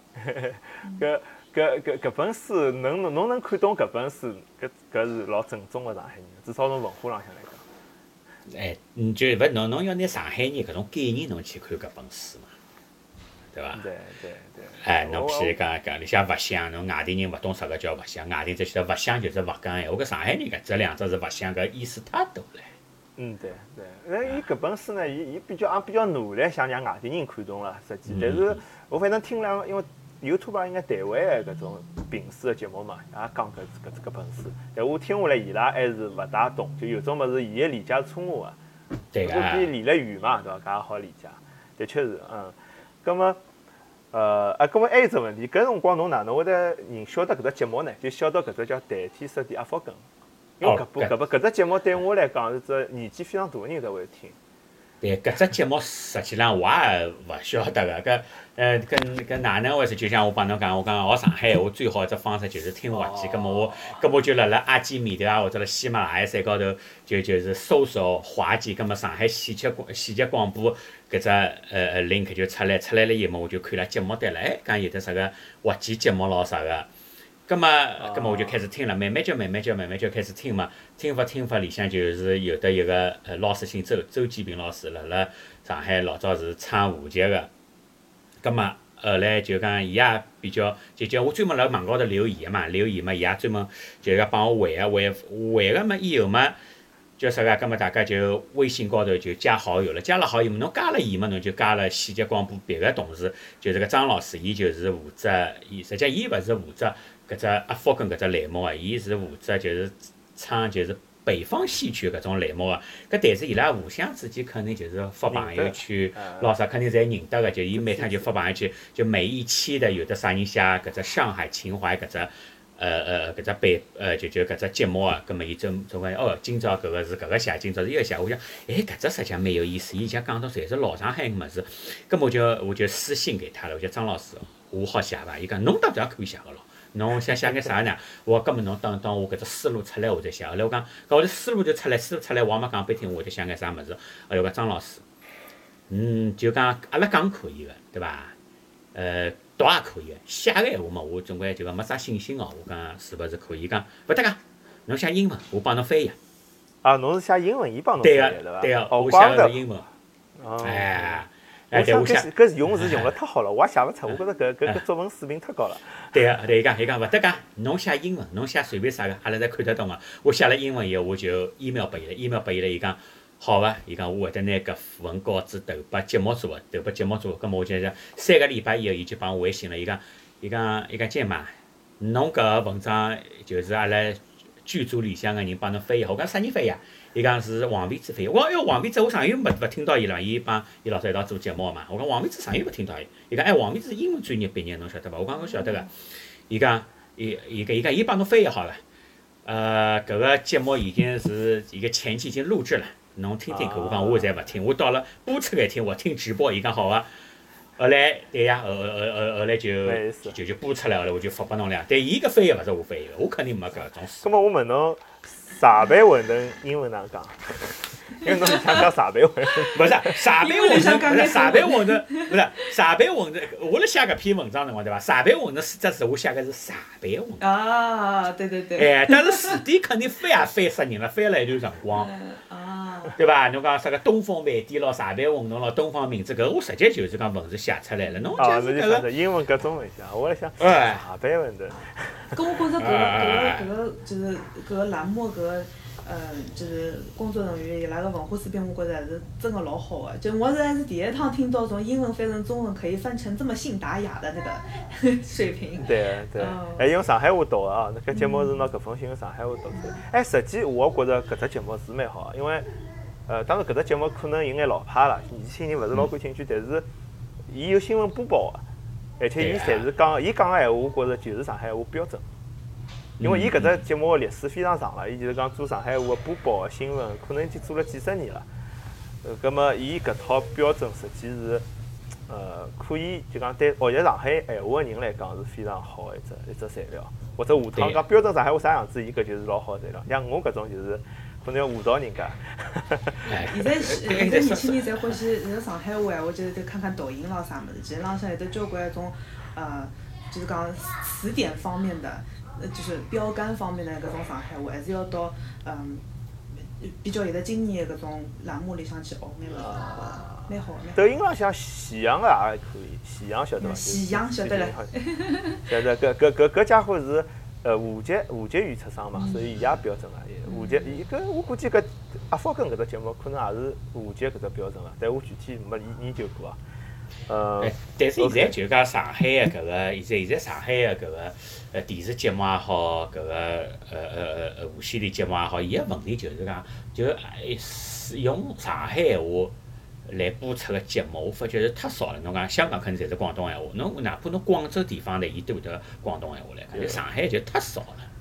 搿本书，侬能看懂搿本书，搿是老正宗个上海人，至少从文化浪向来讲。就勿侬要拿上海人搿种概念侬去看搿本书嘛，对伐？ 对。 侬譬如讲里向勿像，侬外地人勿懂啥个叫勿像，外地只晓得勿像就是勿讲闲话，搿上海人搿两只是勿像，搿意思太大了。 对。那伊搿本书呢，伊比较努力想让外地人看懂了，实际，但是我反正听因为。YouTube 上应该台湾的搿种评书的节目嘛，也讲搿本书，但我听下来伊拉还是勿大懂，就有种物事伊个理解是错误个， 对个， 比离了远嘛，对伐？搿也好理解，的确是，葛么还有只问题，搿辰光侬哪能会得晓得搿只节目呢？就晓得搿只叫代替设定阿福根，因为搿只节目对我来讲是只年纪非常大的人才会听。 对，搿只节目实际上我也勿晓得个，跟哪能回事？就像我帮侬讲，我讲学上海话最好一只方式就是听滑稽，葛末我就辣阿基米德啊或者辣喜马拉雅山高头就是搜索滑稽，葛末上海喜剧广播搿只link 就出来了以后，我就看了节目单了，讲有得啥个滑稽节目咯啥个。葛末我就开始听了，慢慢就开始听嘛，听法里向就是有的一个老师姓周建平老师，辣上海老早是唱话剧个，葛末后来就讲伊也比较就我专门辣网高头留言嘛，伊也专门就讲帮我回个嘛以后嘛，叫啥个？葛末大家就微信高头就加好友了，加了好友嘛，侬加了伊嘛，侬就加了喜剧广播别个同事，就是个张老师，伊就是负责，实际伊勿是负责。搿只阿福跟搿只栏目啊，伊是负责就是唱就是北方戏曲搿种栏目个，搿但是伊拉互相之间肯定就是发朋友圈，老啥肯定侪认得个，就伊每趟就发朋友圈，就每一期的有的啥人写搿只上海情怀搿只搿只就搿只节目啊，葛末伊总讲今朝搿个是搿个写，今朝是伊个写，我想搿只实际上蛮有意思，伊讲讲到侪是老上海个物事，葛末我就私信给他了，我讲张老师，我好写伐？伊讲侬当然可以写个咯。侬想写眼啥呢？我根本侬等我搿只思路出来，我再写。后来我讲，搿我的思路就出来，我也没讲拨听，我就想眼啥物事。后来我讲张老师，就讲阿拉讲可以个，对伐？读也可以个，写个闲话嘛，我总归就讲没啥信心哦。我讲是勿是可以？伊讲勿得个，侬写英文，我帮侬翻译。 啊，侬是写英文，伊帮侬翻译对伐？ 对个， 我写个是英文。 哎。 我想搿用词用了太好了，我也写勿出。我觉着搿作文水平太高了。 对个，伊讲勿得个，侬写英文，侬写随便啥个，阿拉侪看得懂个。我写了英文以后，我就 email 拨伊了，伊讲好个，伊讲我会得拿搿份稿子投拨节目组个，葛末我就讲3个礼拜以后，伊就帮我微信了，伊讲建妈，侬搿个文章就是阿拉剧组里向个人帮侬翻译，我讲啥人翻译？伊讲是王维之翻译，我讲王维之我上月勿听到伊了，伊帮伊老早一道做节目嘛。我讲王维之上月勿听到伊，伊讲王维之是英文专业毕业，侬晓得伐？我讲我晓得个。伊讲伊帮侬翻译好了，搿个节目已经是一个前期已经录制了，侬听听看。我讲我现在勿听，我到了播出搿天我听直播。伊讲好个。后来对呀，后来就播出来，后来我就发拨侬了。但伊搿翻译勿是我翻译个，我肯定没搿种。 葛末我问侬。茶杯馄饨英文哪能讲？因为侬是想讲茶杯馄饨， 勿是茶杯馄饨，茶杯馄饨，勿是茶杯馄饨。我辣写搿篇文章辰光，对伐？茶杯馄饨4只字，我写个是茶杯馄饨。 啊，对。 但是字典肯定翻也翻死人了，翻了一段辰光。对伐？侬讲啥个东风饭店咯，茶杯馄饨咯，东方明珠搿，我直接就是讲文字写出来了。侬就是搿个英文搿中文写，我辣想茶杯馄饨。 跟我觉着搿个就是搿个栏目搿个就是工作人员伊拉个文化水平，我觉着还是真个老好个。就我还是第一趟听到从英文翻成中文可以翻成这么信达雅的那个水平。 对，还用上海话读个啊！搿节目是拿搿封信用上海话读出来。实际我觉着搿只节目是蛮好，因为当然搿只节目可能有眼老派了，年轻人勿是老感兴趣，但是伊有新闻播报个。而且伊侪是讲，伊讲个闲话，我觉着就是上海话标准。因为伊搿只节目个历史非常长了，伊就是讲做上海话个播报个新闻，可能已经做了几十年了。葛末伊搿套标准实际是，可以就讲对学习上海闲话个人来讲是非常好个一只材料。或者下趟讲标准上海话啥样子，伊搿就是老好个材料。像我搿种就是可能要误导人家。 现在年轻人侪欢喜那个上海话，我就是看看抖音咯啥物事，其实浪向有得交关种就是讲词典方面的，就是标杆方面的搿种上海话，还是要到比较有得经验的搿种栏目里向去学眼物事，蛮好蛮好。 抖音浪向喜羊个也可以，喜羊晓得伐？ 喜羊晓得了。 晓得搿家伙是华籍语出生嘛，所以伊也标准了。华籍伊搿我估计搿阿福根搿只节目可能也是华籍搿只标准了，但我具体没研究过啊。 但是现在就讲上海个搿个，现在上海个搿个电视节目也好，搿个无线电节目也好，伊个问题就是讲，用上海闲话来播出个节目，我发觉是太少了。侬讲香港肯定侪是广东闲话，侬哪怕侬广州地方的，伊都会得广东闲话来，就上海就太少了。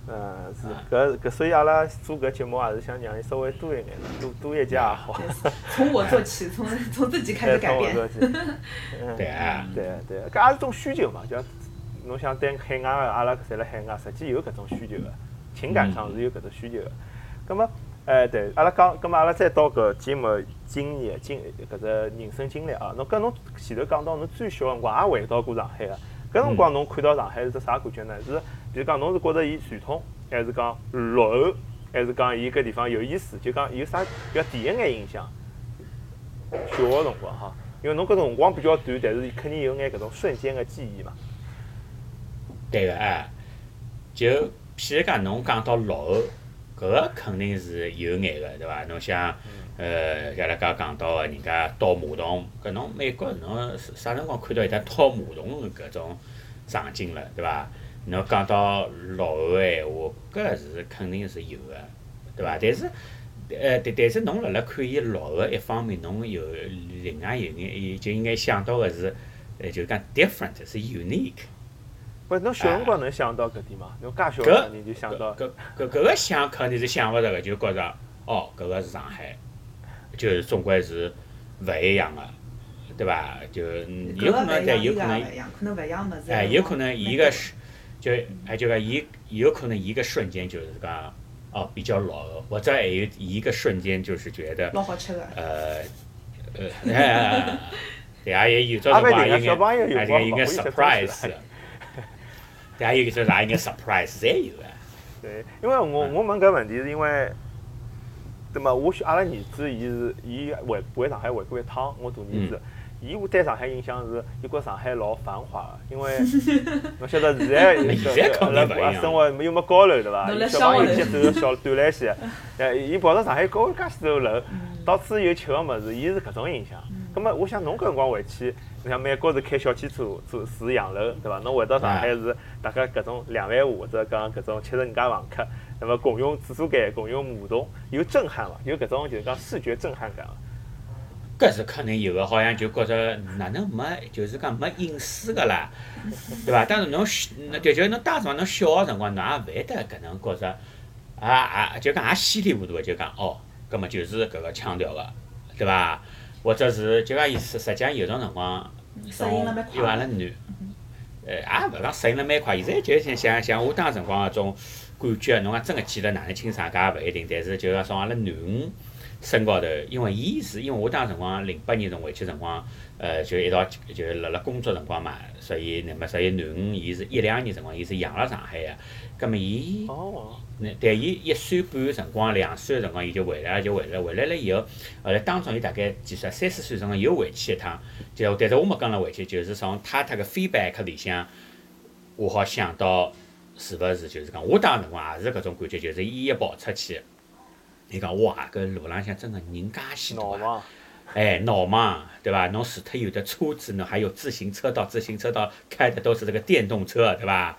是所以阿拉做搿节目也是想让伊稍微多一眼，多一节也好。 从我做起，从自己开始改变。 对啊， 对，搿也是种需求嘛，就侬想对海外个阿拉侪辣海外，实际有搿种需求个，情感上是有搿种需求个。葛末，对，阿拉讲，葛末阿拉再到搿节目经验搿只人生经历啊，侬前头讲到侬最小辰光也回到过上海个，搿辰光侬看到上海是只啥感觉呢？是，比如讲侬是觉着伊传统，还是讲落后，还是讲伊搿地方有意思？就讲有啥比较第一眼印象？小个辰光哈，因为侬搿辰光比较短，但是肯定有眼搿种瞬间个记忆嘛。 对个就譬如讲侬讲到落后，搿个肯定是有眼个，对伐？侬像像阿拉讲到个人家倒马桶，搿侬美国侬啥辰光看到有得倒马桶搿种场景了，对伐？侬讲到落后个闲话，搿是肯定是有个，对伐？但是但是侬辣看伊落后一方面，侬有另外有眼就应该想到个是就讲 different 是 unique。 不，侬小辰光能想到搿点吗？侬介小个人就想到。 搿个想肯定是想勿着个，就觉着哦，搿个是上海，就是总归是勿一样个，对伐？就有可能，但有可能勿一样物事。 有可能伊个就讲伊有可能一个瞬间就是讲哦比较落后，或者还有一个瞬间就是觉得老好吃个。 对啊，也有种辰光有眼 surprise。还有就是啥一个 surprise 侪有个。 对，因为我问搿问题是因为，对嘛？阿拉儿子伊回上海回过一趟，我大儿子，伊对上海印象是，伊觉上海老繁华个，因为侬晓得现在生活又没高楼对伐？小朋友去走小短来些，伊跑到上海高介许多楼，到处有吃个物事，伊是搿种印象。葛末我想侬搿辰光回去，侬像美国是开小汽车住洋楼，对伐？侬回到上海是大概搿种2万户或者讲搿种70人家房客，那么共用厕所间、共用马桶，有震撼伐？有搿种就是讲视觉震撼感伐？ 搿是肯定有个，好像就觉着哪能没，就是讲没隐私个啦，对伐？当然侬就是侬当时侬小个辰光，侬也勿会得搿能觉着，就讲也稀里糊涂个就讲哦，葛末就是搿个腔调个，对伐？或者是就讲意思，实际上有种辰光，因为阿拉男，也勿讲适应了蛮快。现在就像我当辰光搿种感觉，侬讲真个记得哪能清爽，搿也勿一定。但是就讲从阿拉囡恩身高头，因为我当辰光08年回去辰光，就一道就辣工作辰光嘛，所以囡恩伊是12年辰光，伊是养辣上海个，葛末伊。但伊1岁半辰光，2岁个辰光伊就回来了以后，后来当中伊大概几岁？30岁辰光又回去一趟，但是我没跟了回去，就是从他个 feedback 里向，我好想到是勿是就是讲，我当辰光也是搿种感觉，就是伊一跑出去，伊讲哇，搿路浪向真个人介许多啊！闹忙，对伐？侬除脱有的车子，侬还有自行车道开的都是这个电动车，对伐？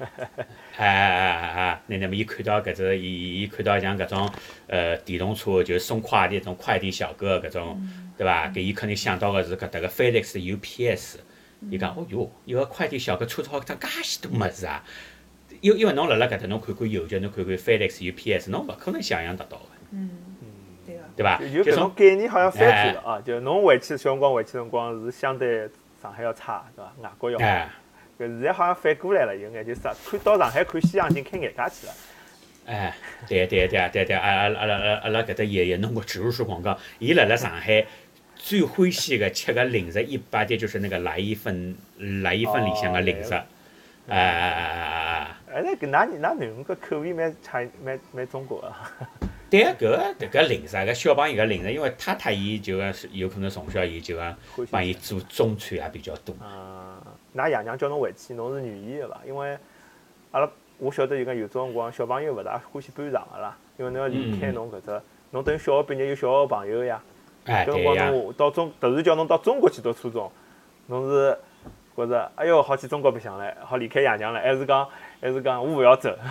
那么伊看到搿只，伊看到像搿种电动车，就是送快递种快递小哥搿种，对伐？搿伊肯定想到个是搿搭个 FedEx UPS，伊讲哦哟，一个快递小哥车子好装介许多物事啊！因为侬辣搿搭侬看看邮局，侬看看 FedEx UPS， 侬勿可能想象得到个。对伐？ 就搿种概念好像反转了啊！就侬回去小辰光回去辰光是相对上海要差，对伐？外国要好。搿现在好像反过来了，有眼就是看到上海看西洋景开眼界去了。 对，阿拉搿搭爷爷弄过植入式广告，伊辣上海最欢喜个吃个零食，一般的就是那个来一份里向个零食。那搿㑚囡恩搿口味蛮中国个。 对搿零食，搿小朋友个零食，因为太太伊就讲有可能从小伊就讲帮伊做中餐也比较多。 㑚爷娘叫侬回去，侬是愿意个伐？因为我晓得就讲有种辰光小朋友勿大欢喜搬场个啦，因为侬要离开侬搿只，侬等于小学毕业有小学朋友呀。搿辰光侬到突然叫侬到中国去读初中，侬是觉着哎哟好去中国白相唻，好离开爷娘唻，还是讲我勿要走？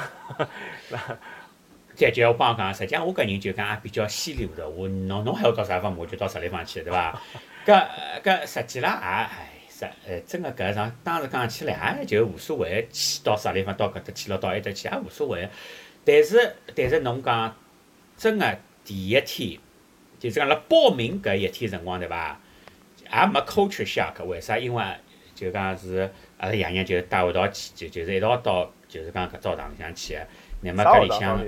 再叫我帮讲，实际上我搿人就讲也比较稀里糊涂，侬还要到啥地方，我就到啥地方去，对伐？搿实际浪也真个搿场当时讲起来也就无所谓，去到啥地方到搿搭去了，到埃搭去也无所谓。但是侬讲真个第一天，就是讲辣报名搿一天辰光对伐？也没 culture shock， 为啥？因为就讲是阿拉爷娘就带我一道去，就是一道到就是讲搿澡堂里向去个。那么搿里向，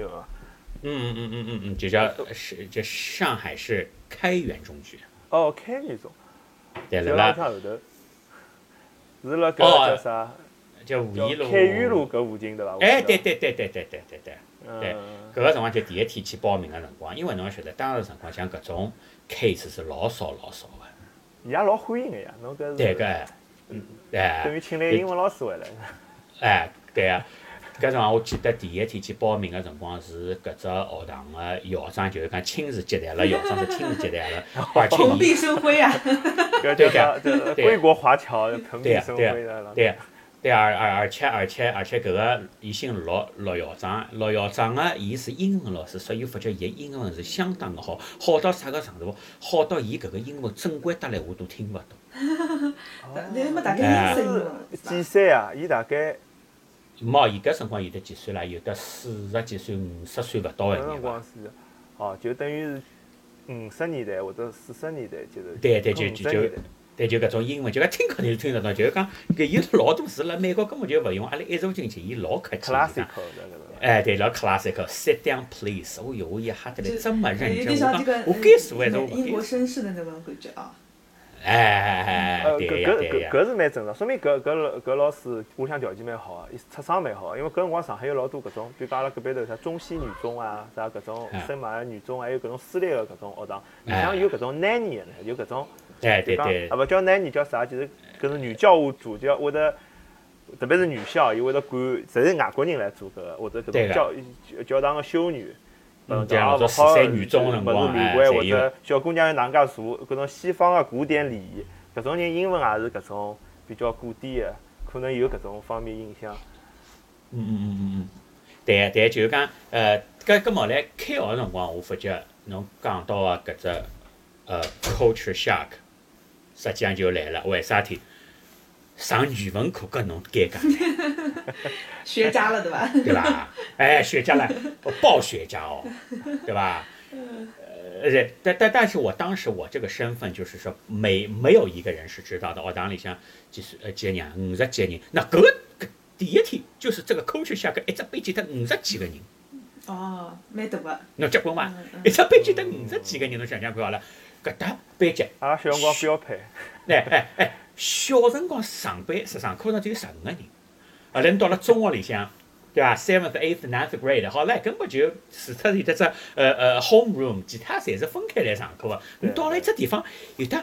就上海市开元中学。 哦，开元中。 对了。 后头。是辣搿叫啥？ 叫五一路。 开元路搿附近对伐？ 哎，对。对，搿个辰光就第一天去报名个辰光，因为侬晓得，当时辰光像搿种 case 是老少个。 伊也老欢迎个呀，侬搿是。 对个， 等于请来英文老师回来。 哎，对个。搿辰光我记得第一天去报名个辰光是搿只学堂个校长，就是讲亲自接待了，校长是亲自接待了，而且蓬荜生辉啊！ 对个，归国华侨蓬荜生辉的。 对，而且搿个伊姓陆校长，陆校长个伊是英文老师，所以发觉伊英文是相当个好，好到啥个程度？好到伊搿个英文正规得来我都听勿懂。 那么大概英文几岁啊？伊大概。 冇，伊搿辰光有得几岁啦？有得40几岁、50岁勿到个人伐？哦，就等于是50年代或者40年代，就是。 对，就搿种英文，就讲听肯定是听得到，就是讲搿伊老多字辣美国根本就勿用，阿拉一坐进去，伊老客气。 classical 哎，对，老 classical。Sit down, please。哦哟，我一吓得来这么认真，我讲该说还是我不该。 英国绅士的那种感觉啊。 对呀。 搿是蛮正常，说明搿老师屋里向条件蛮好个，伊出生蛮好个。因为搿辰光上海有老多搿种，比如讲阿拉搿边头啥中西女中啊，啥搿种圣马尔女中，还有搿种私立个搿种学堂，里向有搿种 nanny 个呢，有搿种。 对。 勿叫 nanny 叫啥？就是搿是女教务组，就会得，特别是女校，伊会得管，侪是外国人来做搿个，或者搿种教堂个修女。 讲老早4、3女中辰光， 女官或者小姑娘要哪能介做，搿种西方个古典礼仪，搿种人英文也是搿种比较古典个，可能有搿种方面影响。 对，就是讲搿么来开学辰光，我发觉侬讲到个搿只culture shock， 实际上就来了。为啥体？上语文课跟侬尴尬。 学渣了对吧？ 对吧？哎，学渣了，爆学渣哦，对吧？但是我当时我这个身份就是说没有一个人是知道的，学堂里向几个人，50几个人，那搿第一天就是这个culture shock，一只班级得50几个人。 哦，蛮大个。 侬结棍伐？一只班级得50几个人，侬想想看好了，搿搭班级。 阿拉小辰光标配。 小辰光上课堂只有15个人，后来到了中学里向，对伐 ？7th、8th、9th grade， 好唻，根本就除脱有得只home room， 其他侪是分开来上课个。你到了一只地方，有得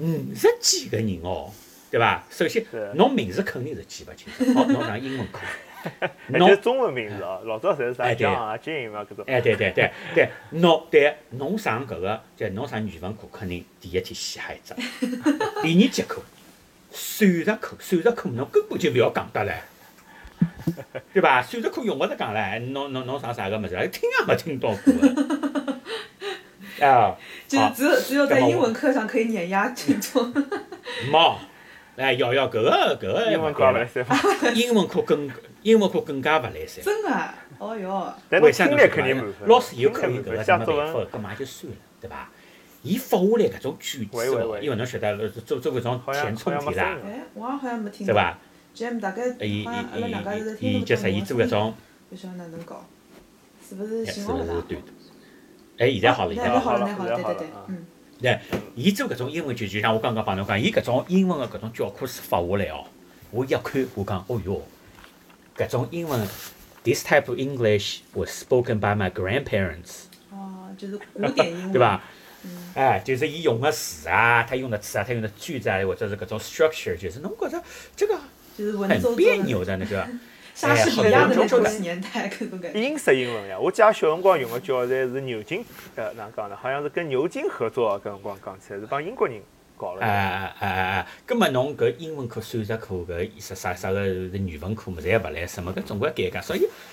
50几个人哦，对伐？首先，侬名字肯定是记勿清楚，好，侬上英文课。 侬中文名字哦，老早侪是啥 John 啊、Jim 啊搿种。 对，侬上搿个，就侬上语文课，肯定第一天死哈一只。第二节课，算术课侬根本就勿要讲得唻，对伐？算术课用勿着讲唻，侬上啥个物事，听也没听到过个。啊， 就是只有在英文课上可以碾压群众。 冇，要搿个英文课勿来三。 英文课更加勿来三。 真个，哦哟。 为啥？ 听力肯定满分。 老师有可能搿个什么办法，搿嘛就算了，对伐？伊发下来搿种句子哦，因为侬晓得做搿种填充题啦， 我好像没听对伐？ 大概好像阿拉两家是在听伊就是伊做搿种， 不晓得哪能搞，是不是信号勿大？ 现在好了， 现在好了，对， 对，伊做搿种英文就像我刚刚帮侬讲，伊搿种英文个搿种教科书发下来哦，我一看我讲，哦哟，搿种英文 ，this type of English was spoken by my grandparents。 哦，就是古典英文， 对伐？就是伊用个词啊，他用的词啊，他用的句子啊，或者是搿种 structure， 就是侬觉着这个很别扭的那个。 莎士比亚的那种年代，搿种感觉。 英式英文呀，我记得小辰光用个教材是牛津，哪能讲呢？好像是跟牛津合作，搿辰光讲起来是帮英国人搞了。 葛末侬搿英文课、数学课搿啥个语文课嘛，侪勿来什么，搿总归尴尬。所以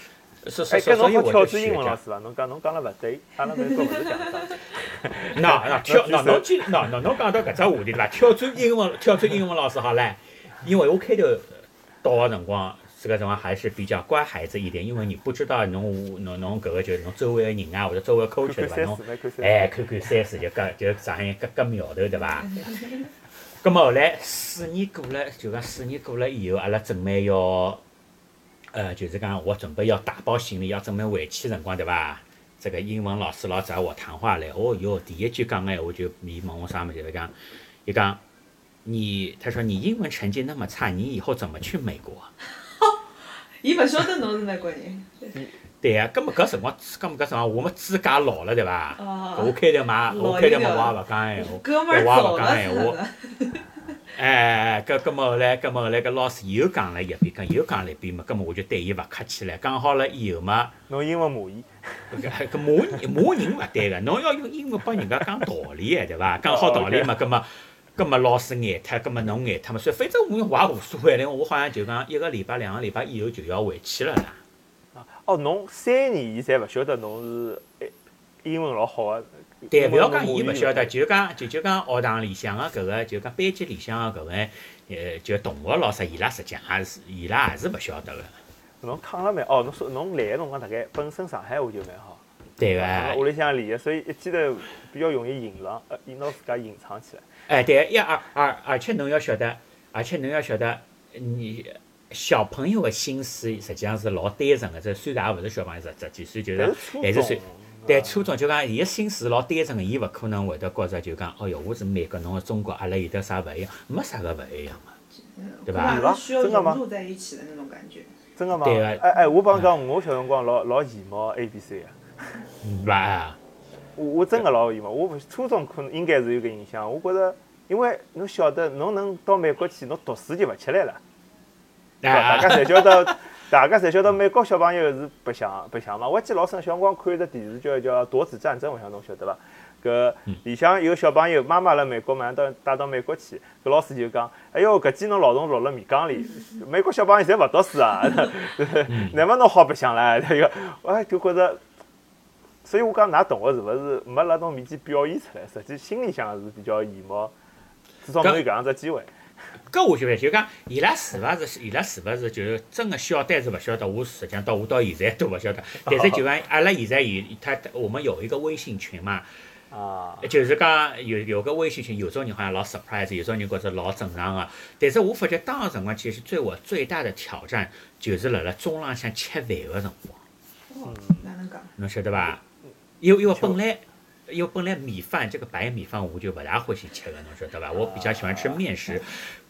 搿侬好挑战所以我就学着英文老师伐？侬讲了勿对，阿拉美国勿是搿样子。 侬讲到搿只话题对伐？挑战英文老师好唻，因为我开头到个辰光，这个辰光还是比较乖孩子一点，因为你不知道侬搿个就是侬周围个人啊，或者周围 culture 对伐？侬看三四就上海搿苗头对伐？咁么后来4年过了，就讲4年过了以后，阿拉准备要，就是讲我准备要打包行李，要准备回去辰光，对伐？这个英文老师老找我谈话嘞，哦哟，第一句讲个闲话就伊问我啥物事，伊讲他说你英文成绩那么差，你以后怎么去美国？ 伊勿晓得侬是美国人。 对呀，搿么搿辰光我们资格老了对伐？我开头嘛我也勿讲闲话， 哥们儿我也勿走讲闲话。搿么后来搿老师又讲了一遍嘛，搿么我就对伊勿客气了，讲好了以后嘛， 侬英文骂伊， 搿骂人勿对个，侬要用英文帮人家讲道理个对伐？讲好道理嘛，搿么老师眼脱，搿么侬眼脱嘛，所以反正我也无所谓了，我好像就讲1个礼拜、2个礼拜以后就要回去了啦。 哦，侬3年伊侪勿晓得侬是英文老好个。 对，勿要讲伊勿晓得，就讲学堂里向个搿个，就讲班级里向个搿个，就同学老师，伊拉实际上伊拉也是勿晓得个。 侬抗了蛮哦，侬说侬来个辰光大概本身上海话就蛮好。 对个。 屋里向练个，所以一记头比较容易拿自家隐藏起来。 对，而且侬要晓得，你小朋友的心思实际上是老单纯个，这虽然也勿是小朋友10几岁，就是还是岁。对，初中就讲伊个心思老单纯个，伊勿可能会得觉着就讲，哦哟，我是美国，侬个中国，阿拉有得啥勿一样？没啥个勿一样嘛，对伐？ 需要融入在一起的那种感觉。 真个吗？ 对个。我帮讲，我小辰光老羡慕 ABC 个。 伐？ 我真个老羡慕，我初中可能应该是有个印象。我觉着，因为侬晓得，侬能到美国去，侬读书就勿吃力了。大家侪晓得，美国小朋友是白相嘛。我记得老深，小辰光看一只电视剧叫《夺子战争》，我想侬晓得伐？搿里向有小朋友，妈妈辣美国马上带到美国去，搿老师就讲：“哎哟，搿记侬老虫落了米缸里，美国小朋友侪勿读书啊，乃末侬好白相唻？”就觉着，所以我讲，㑚同学是勿是没辣侬面前表现出来？实际心里向是比较羡慕，至少侬有搿样只机会。 搿我就讲，伊拉是勿是就是真个晓得还是勿晓得？我实际上我到现在都勿晓得。但是就讲阿拉现在我们有一个微信群嘛，就是讲有个微信群，有种人好像老 surprise， 有种人觉着老正常个。但是我发觉当个辰光，其实对我最大的挑战就是辣中浪向吃饭个辰光。 哪能讲？ 侬晓得伐？因为本来米饭这个白米饭我就不大欢喜吃的，侬晓得吧？我比较喜欢吃面食，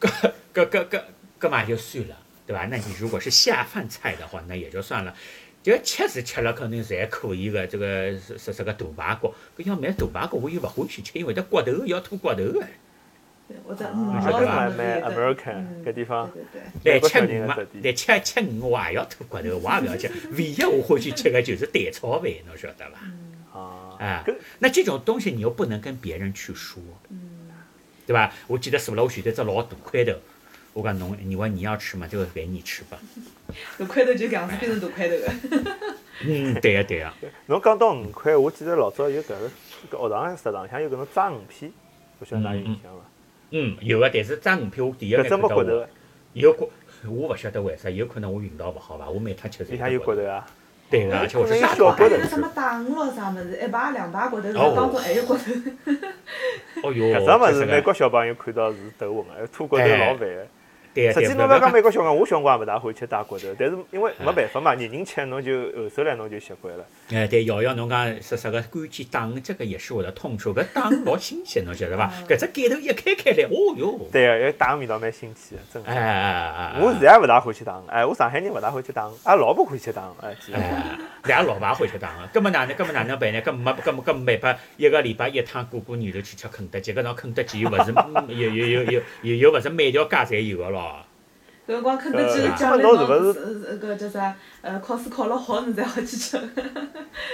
嘛就算了，对吧？那你如果是下饭菜的话，那也就算了。就吃是吃了肯定侪可以的，这个是个大排骨，搿要买大排骨我又勿欢喜吃，因为它骨头要吐骨头的。 或者晓得伐？蛮 American 搿地方， 来吃鱼嘛，来吃鱼我也要吐骨头，我也勿要吃。唯一我欢喜吃的就是蛋炒饭，侬晓得伐？那这种东西你又不能跟别人去说，对吧？我记得是了，我选择只老大块头，我讲侬，你问你要吃嘛，这个给你吃吧。 大块头就搿样子变成大块头的。 对呀。 侬讲到5块，我记得老早有搿学堂食堂像有搿种炸鱼片，勿晓得㑚有印象伐？ 有个，但是炸鱼片我第一眼看到有骨，我勿晓得为啥，有可能我运道勿好伐？我每趟吃里向有骨头啊。 对个，而且我是小骨头。 什么大鱼咯啥物事，1排2排骨头，当中还有骨头。 哦哟， 搿只物事美国小朋友看到是头昏个，吐骨头老烦个。实际侬勿要讲美国小朋友，我小辰光也勿大欢喜吃大骨头，但是因为没办法嘛，人吃侬就后首来侬就习惯了。 对，瑶瑶侬讲说啥个关键打鱼，这个也是我的痛处。搿打鱼老新鲜，侬晓得伐？搿只盖头一开来，哦哟。 对个，打鱼味道蛮新鲜个，真个。 我现在也勿大欢喜打鱼，我上海人勿大欢喜打鱼，阿拉老婆欢喜吃打鱼， 俺老爸欢喜吃打鱼。搿么哪能办呢？搿没办法，1个礼拜1趟过年头去吃肯德基，搿种肯德基又勿是又勿是每条街侪有个咯。 搿辰光肯德基奖励侬搿叫啥？考试考了好，侬才好去吃。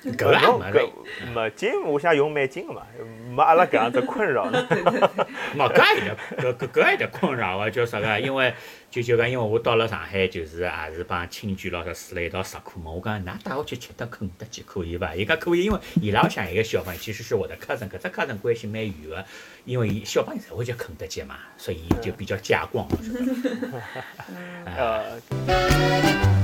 搿也侬搿没了。 没劲，我想用蛮近个嘛，没阿拉搿样子困扰呢。 冇搿有点搿有点困扰个，叫啥个？因为就讲，因为我到了上海，就是也是帮亲眷老师住了一道食课嘛。我讲，㑚带我去吃顿肯德基可以伐？伊讲可以，因为伊拉向一个小朋友，其实是我的cousin，搿只 cousin 关系蛮远个，因为小朋友才会叫肯德基嘛，所以就比较家光，是吧？